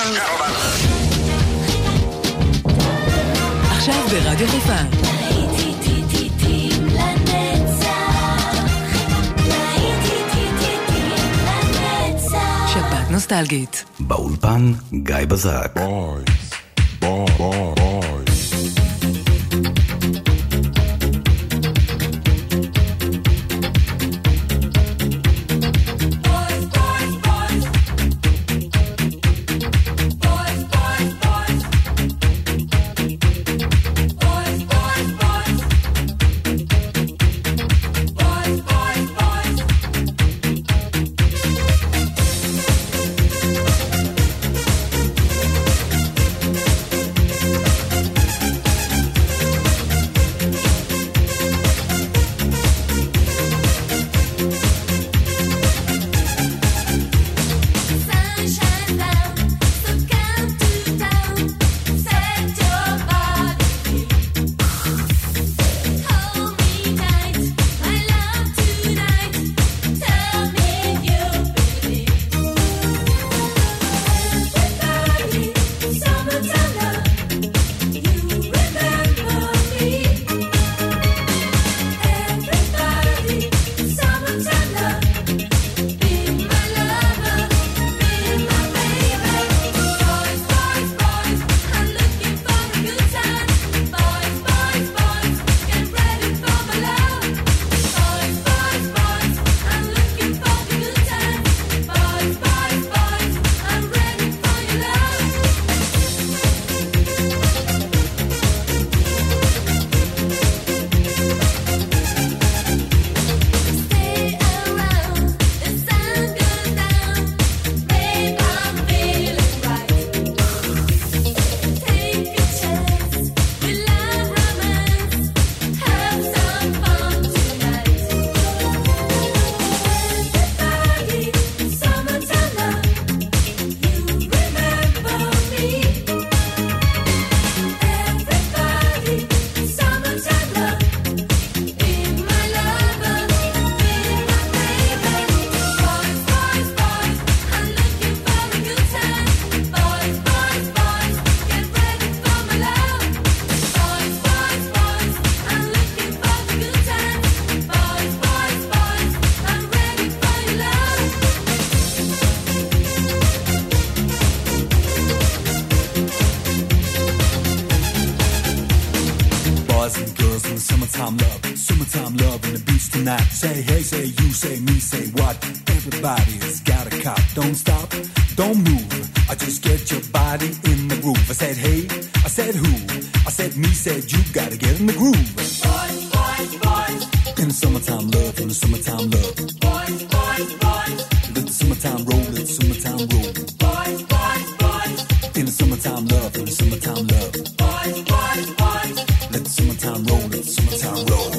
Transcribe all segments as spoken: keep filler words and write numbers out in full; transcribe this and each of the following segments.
עכשיו ברדיו חיפה. שבת נוסטלגית. באולפן גיא בזק. בוי, בוי, בוי, בוי. Say hey, say you, say me, say what. Everybody's got a cop. Don't stop, don't move. I just get your body in the groove. I said hey, I said who. I said me, said you. Gotta get in the groove. Boys, boys, boys. In the summertime love, in the summertime love. Boys, boys, boys. Let the summertime roll, let the summertime roll. Boys, boys, boys. In the summertime love, in the summertime love. Boys, boys, boys. Let the summertime roll, let the summertime roll.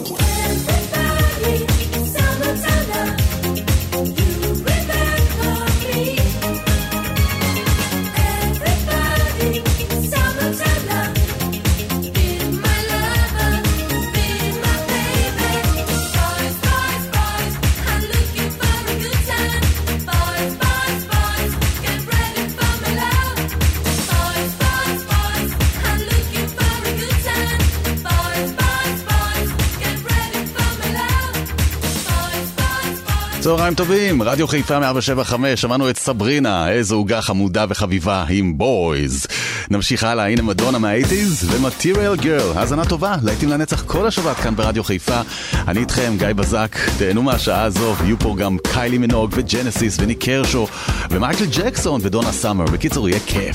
צהריים טובים, רדיו חיפה מאה שבע חמש, שמענו את סברינה, איזו עוגה חמודה וחביבה עם בויז. נמשיך הלאה, הנה מדונה מה-שמונים ומטריאל גרל, האזנה טובה, להיטים לנצח כל השבת כאן ברדיו חיפה. אני איתכם, גיא בזק, תהנו מהשעה הזו, יהיו פה גם קיילי מינוג וג'נסיס וניק קרשו ומייקל ג'קסון ודונה סאמר, בקיצור יהיה כיף.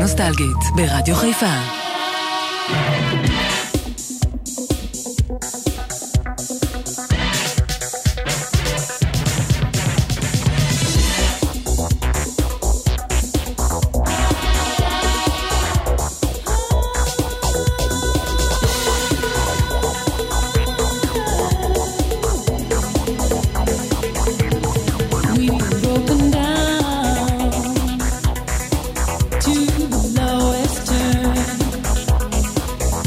נוסטלגית ברדיו חיפה. To the lowest turn.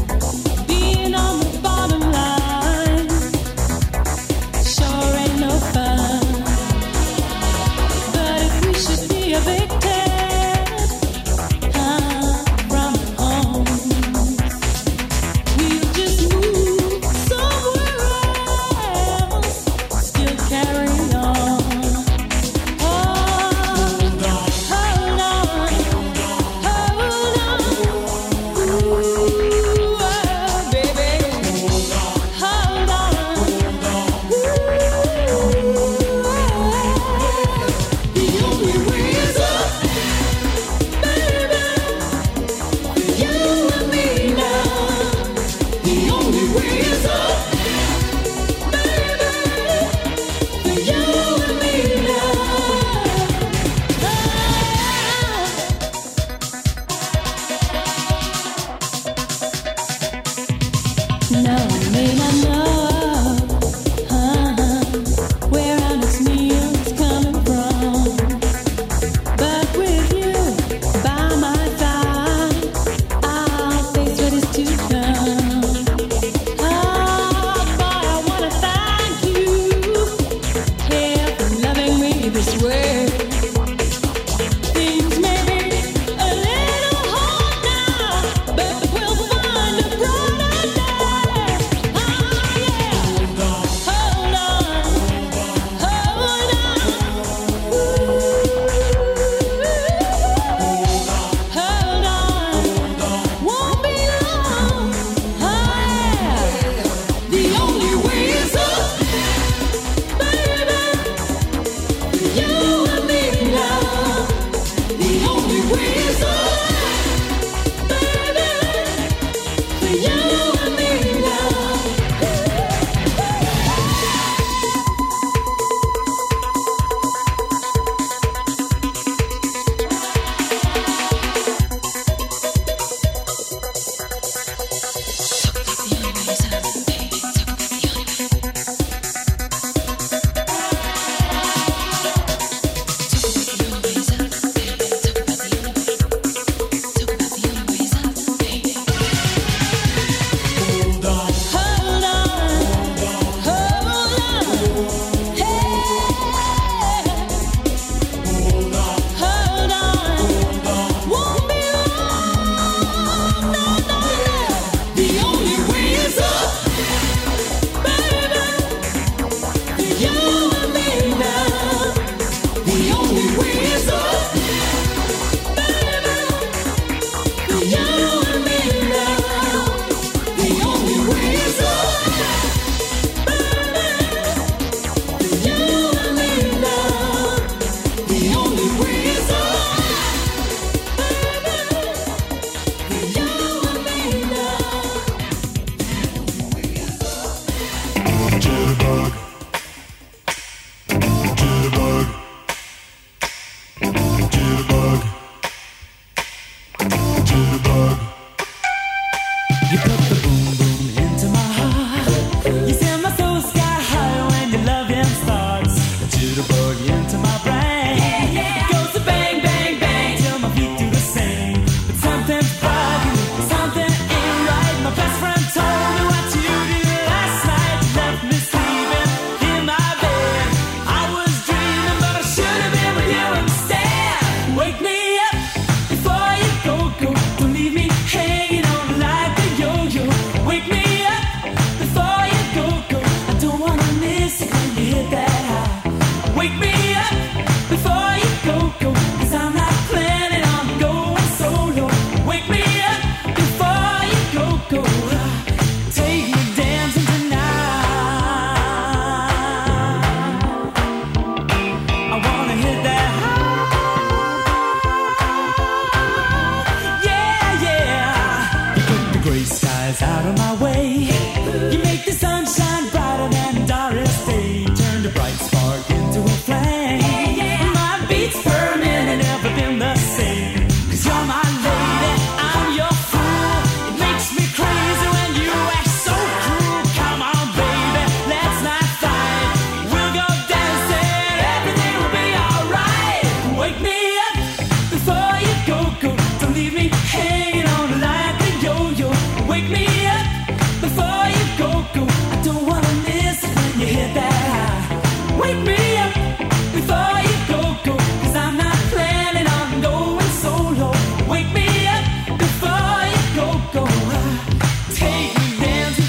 out of my way. You make the sunshine brighter than Doris Day. Turn the bright spark into a flame. My beats per minute never been the same. Cause you're my lady, I'm your fool. It makes me crazy when you act so cruel. Come on baby, let's not fight. We'll go dancing, everything will be alright. Wake me up before you go, go. Don't leave me hanging on like a yo-yo. Wake me up before you go, go. I don't wanna miss when you hit that high. Wake me up before you go, go. Cause I'm not planning on going solo. Wake me up before you go, go. Take me dancing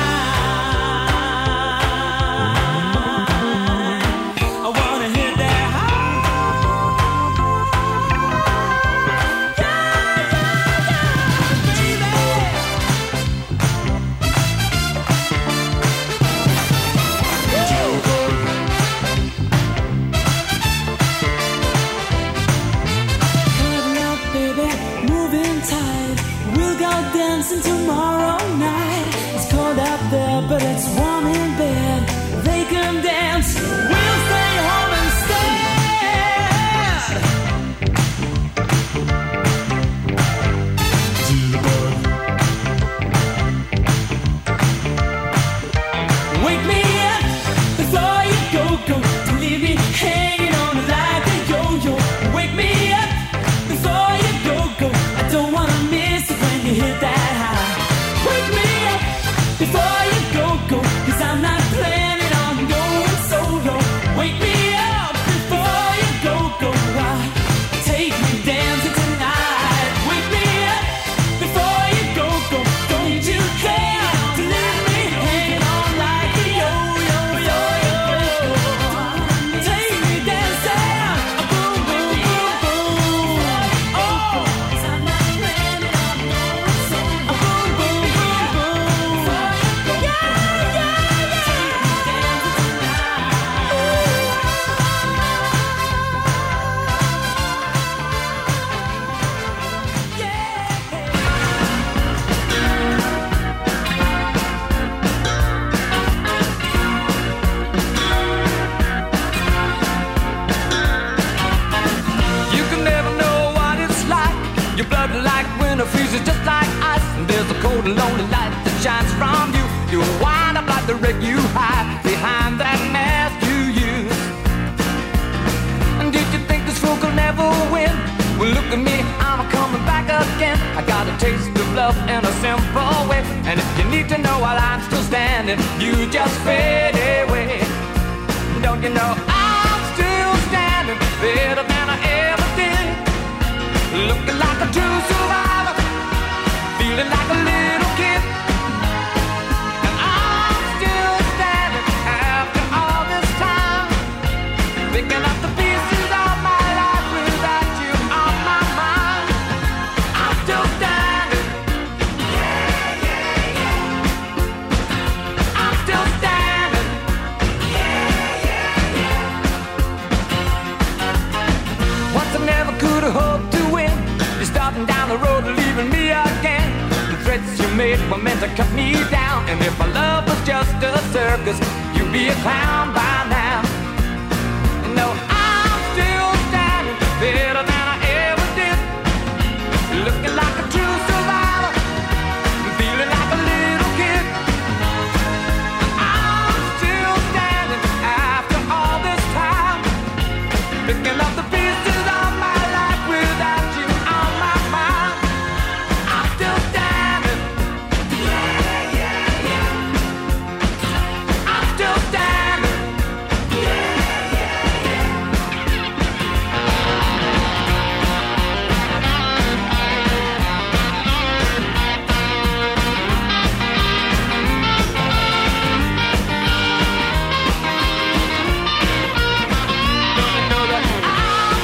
tonight. I wanna hit that high. Yeah, yeah, yeah, baby. Cuddle up, baby, moving tight. We'll go dancing tomorrow night. It's cold out there, but it's warm in bed. They can dance, we'll stay home instead. Wake me up before you go, go. Don't leave me hanging on like a yo-yo. Wake me up before you go, go. I don't wanna miss it when you hit that high. Wake me up before you go, go. Cause I'm not planning on going solo. Wake me up before you go, go. Take me dancing tonight. Wake me up before you go, go. Don't you care to leave me hanging on like a yo-yo, yo-yo. Take me dancing, boom, boom, boom, boom. Oh, cause I'm not planning on going solo. Boom, boom, boom, boom. Yeah, yeah, yeah. Take me dancing tonight. Yeah. You can never know what it's like. Your blood like winter freezes just like ice. And there's a cold and lonely light that shines from you. You wind up like the wreck you hide behind that mask you use. And did you think this fool could never win? Well, look at me, I'm coming back again. I got a taste of love in a simple way. And if you need to know while I'm still standing, you just fade away. Don't you know I'm still standing better than I ever did? Looking like a true survivor, feeling like a little kid. And I'm still standing after all this time, picking up the pieces of my life without you on my mind. I'm still standing. Yeah, yeah, yeah. I'm still standing. Yeah, yeah, yeah. Once I never could have hoped to win. You're starting down the road and leaving me again. The threats you made were meant to cut me down. And if my love was just a circus, you'd be a clown by now. No, I'm still standing better than I ever did. Looking like a true survivor, feeling like a little kid. I'm still standing after all this time, picking up the pieces of my life without you on my mind. I'm still standing. Yeah, yeah, yeah. I'm still standing. Yeah, yeah, yeah. Don't you know that I'm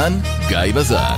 באולפן גיא בזק.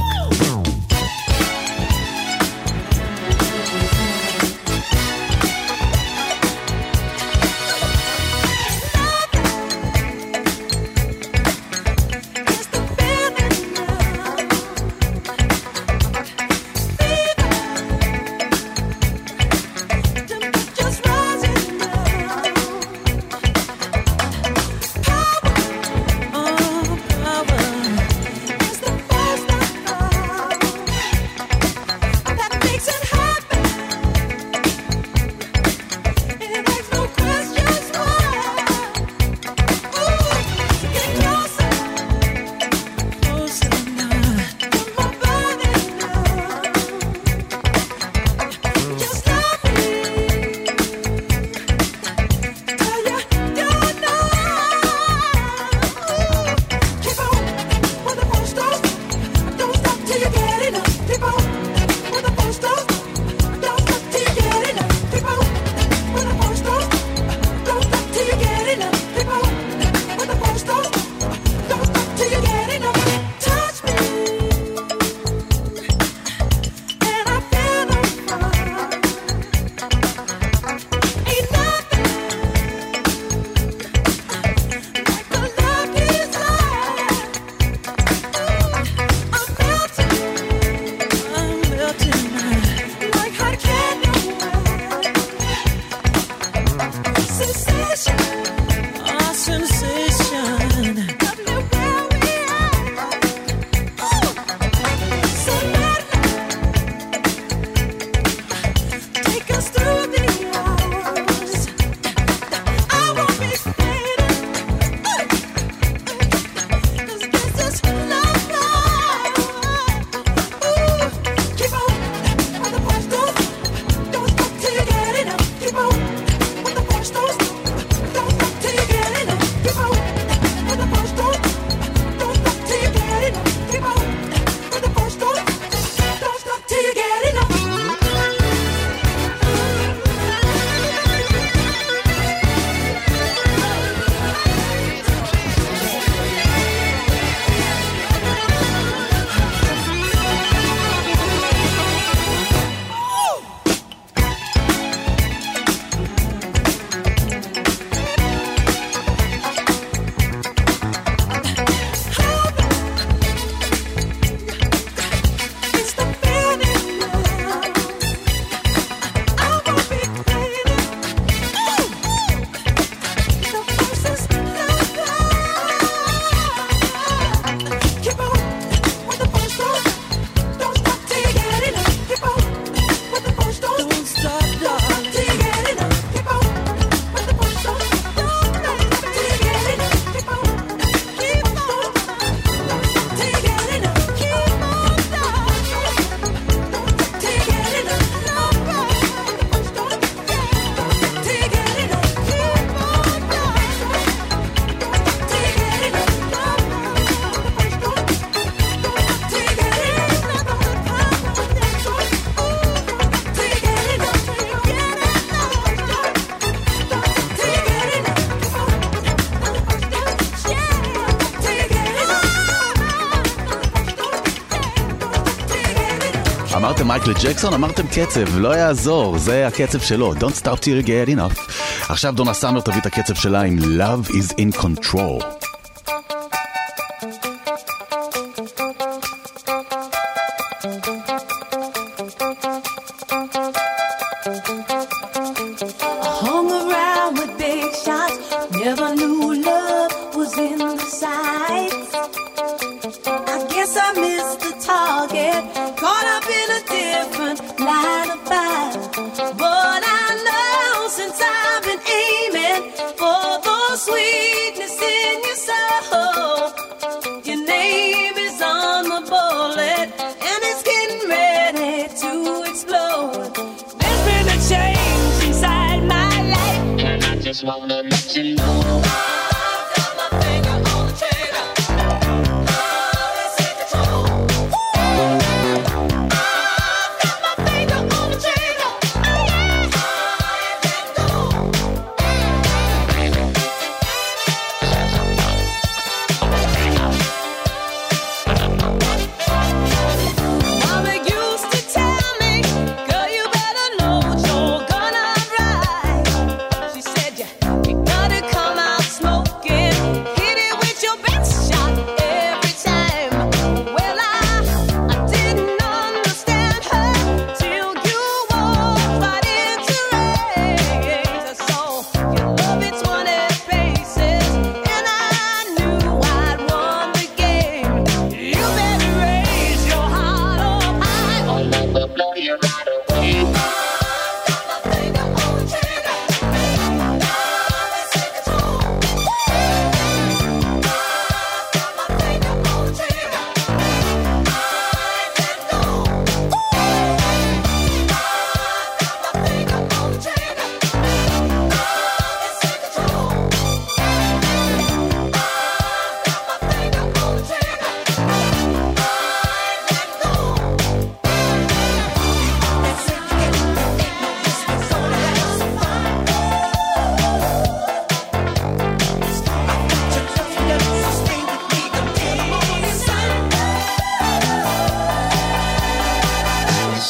אמרתם מייקל ג'קסון, אמרתם קצב, לא יעזור, זה הקצב שלו, Don't stop till you get enough. עכשיו דונה סאמר תביא את הקצב שלה עם Love is in control.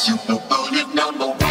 Super Bullet number one.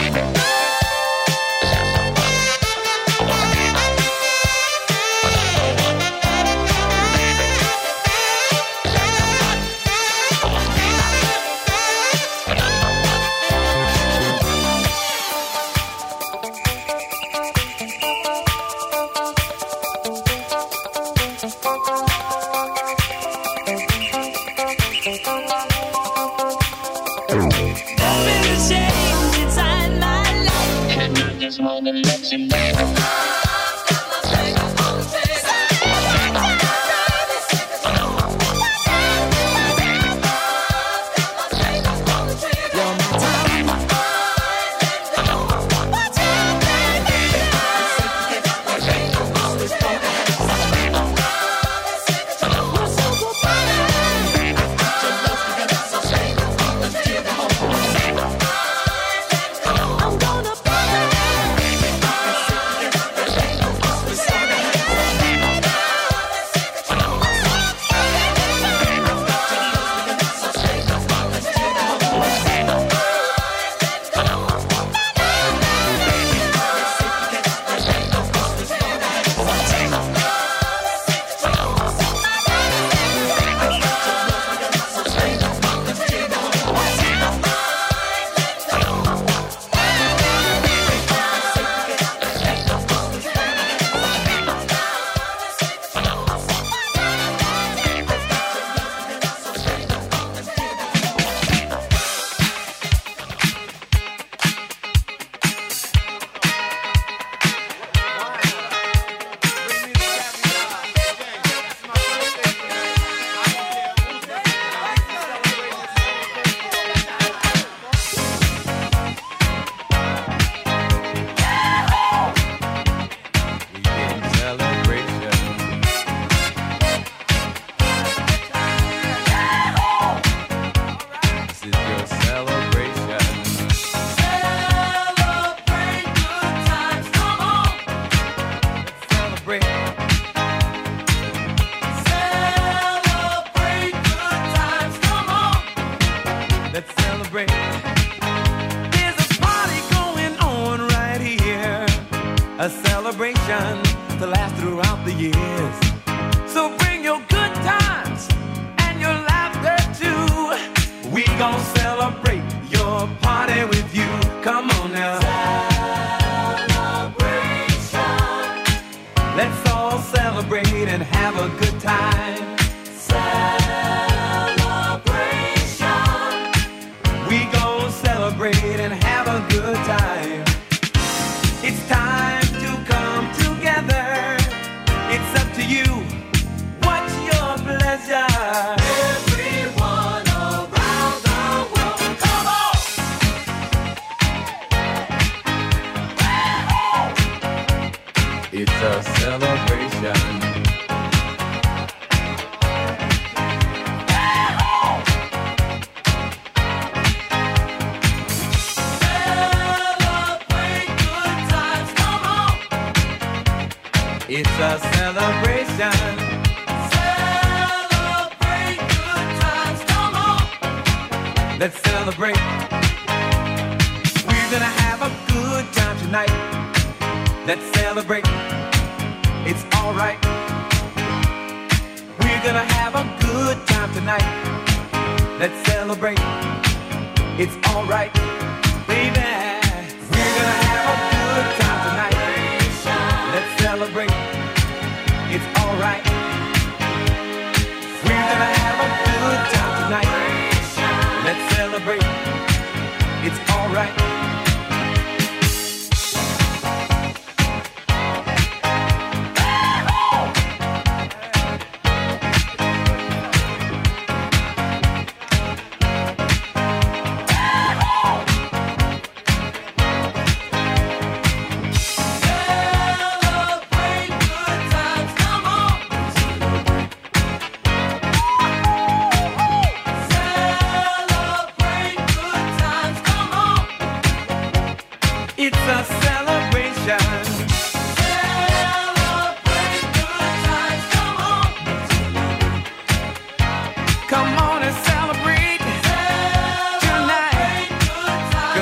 Come on and celebrate tonight.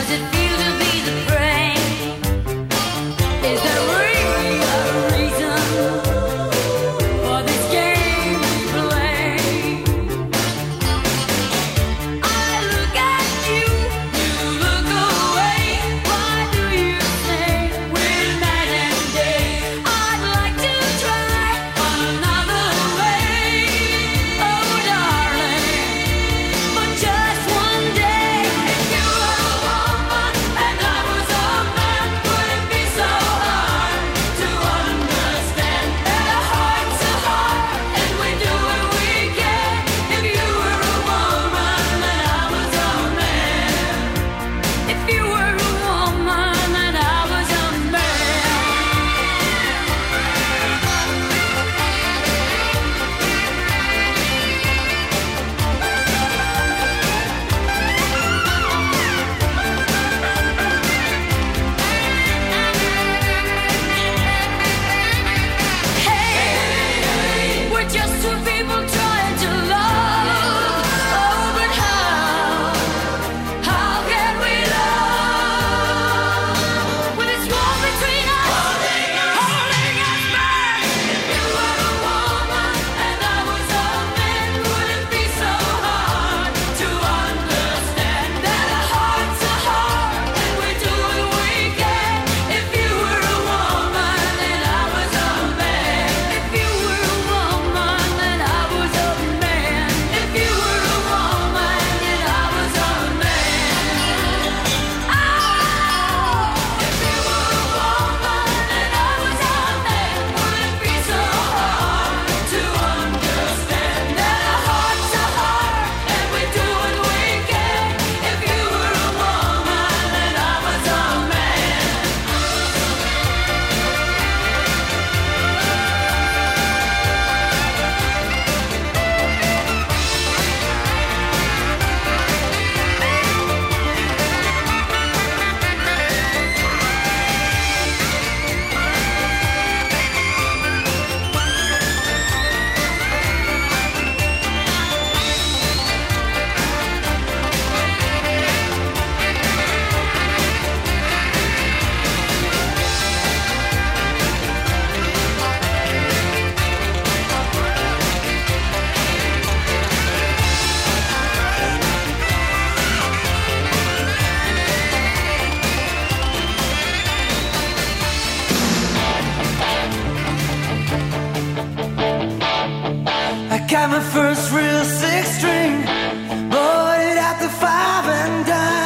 Got my first real six string, bought it at the five and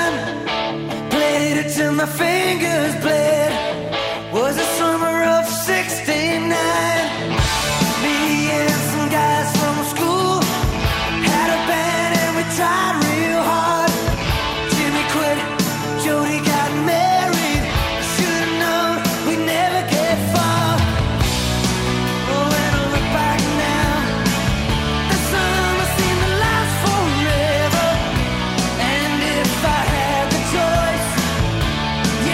dime, played it till my fingers bled. Was the summer of sixty-nine. Me and some guys from school had a band and we tried real hard. Jimmy quit, Jody got married. Should've known we'd never get far. Oh, when I look back now, the summer seemed to last forever. And if I had the choice, yeah,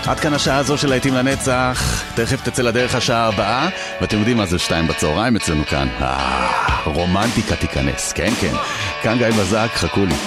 עד כאן השעה הזו של להיטים לנצח. תכף תצא לדרך השעה הבאה, ואתם יודעים מה זה שתיים בצהריים אצלנו כאן. אה, רומנטיקה תיכנס, כן כן. כאן גיא בזק, חכו לי.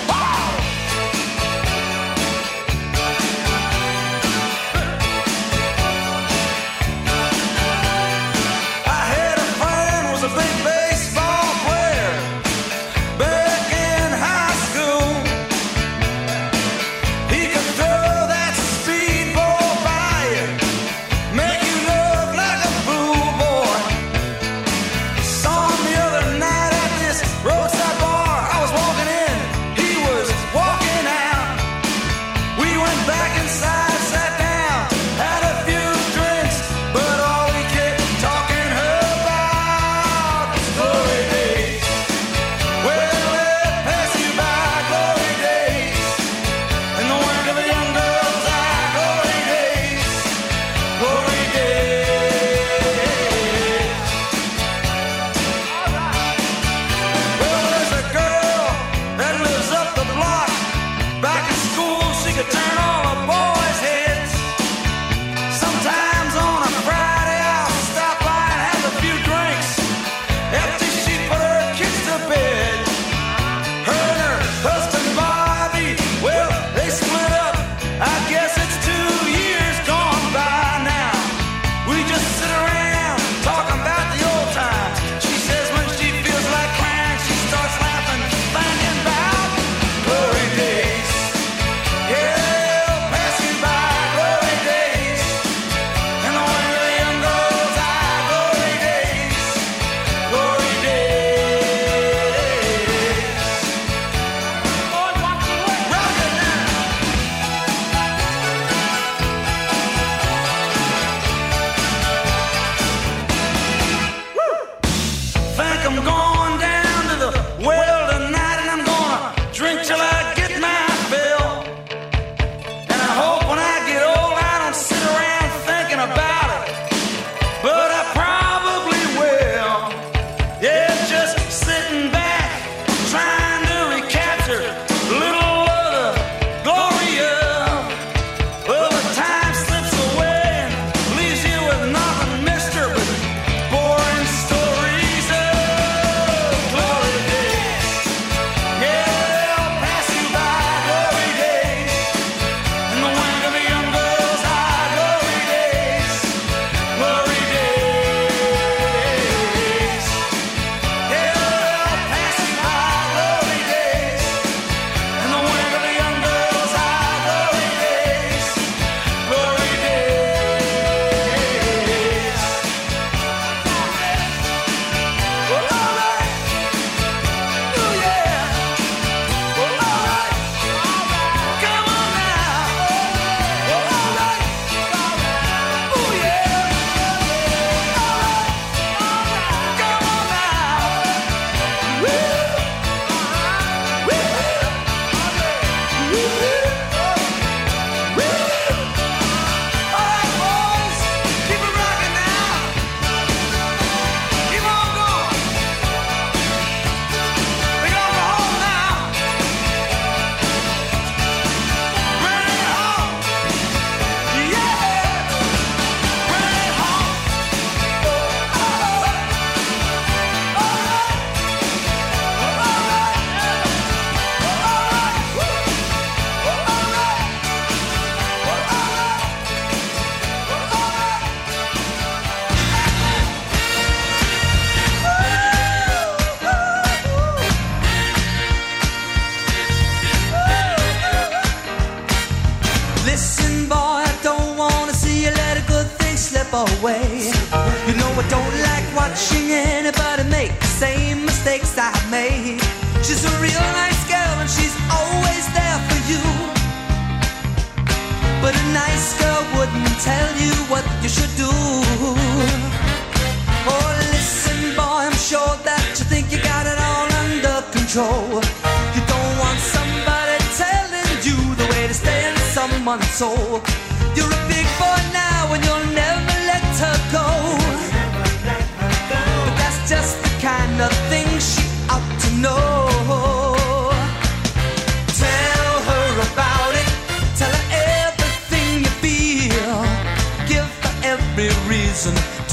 Away. You know I don't like watching anybody make the same mistakes I made. She's a real nice girl and she's always there for you. But a nice girl wouldn't tell you what you should do. Oh, listen, boy, I'm sure that you think you got it all under control. You don't want somebody telling you the way to stay in someone's soul. You're a big boy now and you'll never let her go. But that's just the kind of thing she ought to know. Tell her about it. Tell her everything you feel.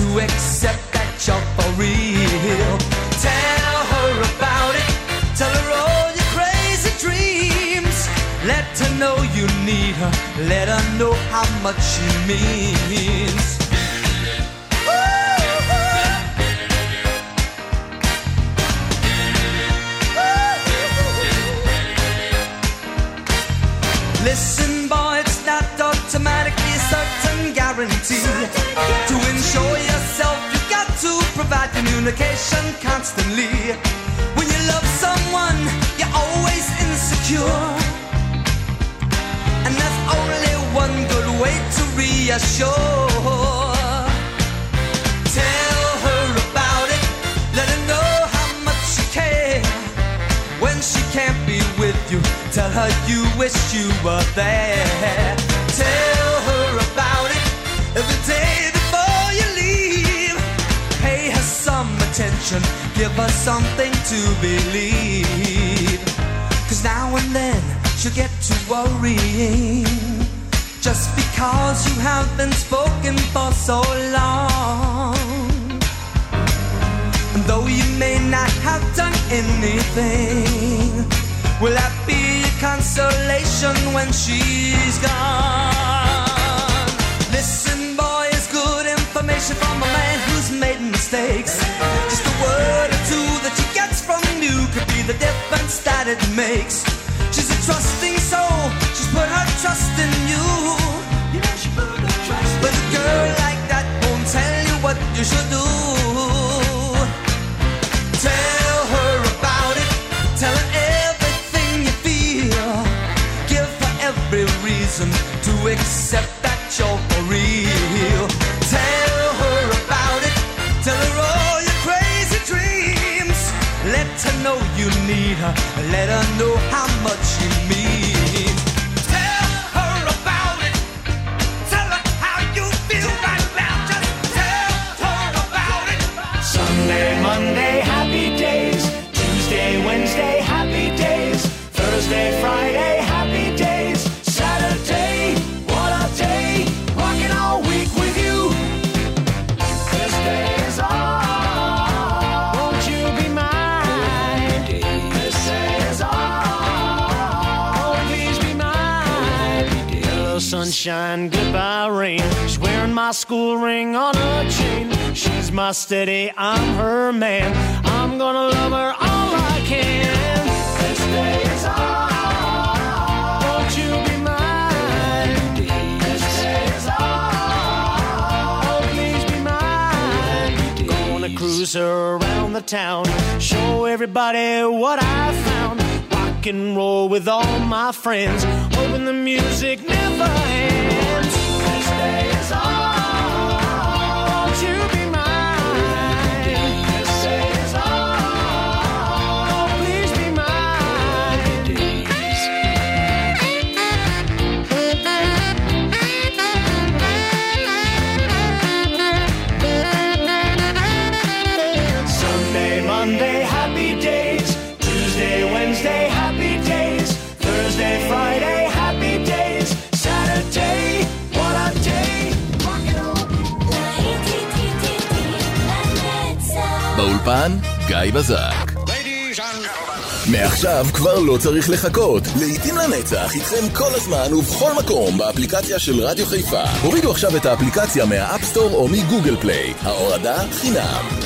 accept that you're for real. Tell her about it. Tell her all your crazy dreams. Let her know you need her. Let her know how much she means. Listen, boy, it's not automatically a certain guarantee. To ensure yourself, you got to provide communication constantly. When you love someone, you're always insecure. And there's only one good way to reassure. Tell her about it. Let her know how much you care. When she can't be with you, tell her you wish you were there. Tell her about it every day before you leave. Pay her some attention, give her something to believe. Cause now and then she'll get to worrying, just because you have been spoken for so long. And though you may not have done anything, will that be a consolation when she's gone? Listen, boy, it's good information from a man who's made mistakes. Just a word or two that she gets from you could be the difference that it makes. She's a trusting soul, she's put her trust in you. You know she put her trust in you. But a girl like that won't tell you what you should do. Tell her about it, tell her everything you feel. Give her every reason to accept that you're for real. Tell her about it, tell her all your crazy dreams. Let her know you need her, let her know how much you mean. Tell her about it, tell her how you feel right now. Just tell her about it. Sunday, Monday, happy days. Tuesday, Wednesday, happy days. Thursday, Friday, happy days. Saturday, what a day. Rocking all week with you. This day is all. Won't you be mine? This day is all. Oh, please be mine. Hello, sunshine, goodbye, rain. She's wearing my school ring on her chain. She's my steady, I'm her man. I'm gonna love her all I can. This day is all. Won't you be mine? This day is all. Oh, please be mine. Gonna cruise her around the town, show everybody what I found. Rock and roll with all my friends, hoping the music never ends. This day is all. Won't you be mine? This day is all. Oh, please be mine. Sunday, Monday, happy days. Tuesday, Wednesday, happy days. Thursday, Friday, happy days. Saturday, what a day. באולפן, גיא בזק. מעכשיו כבר לא צריך לחכות. לעתים לנצח איתכם כל הזמן ובכל מקום באפליקציה של רדיו חיפה. הורידו עכשיו את האפליקציה מהאפסטור או מגוגל פליי. ההורדה חינם.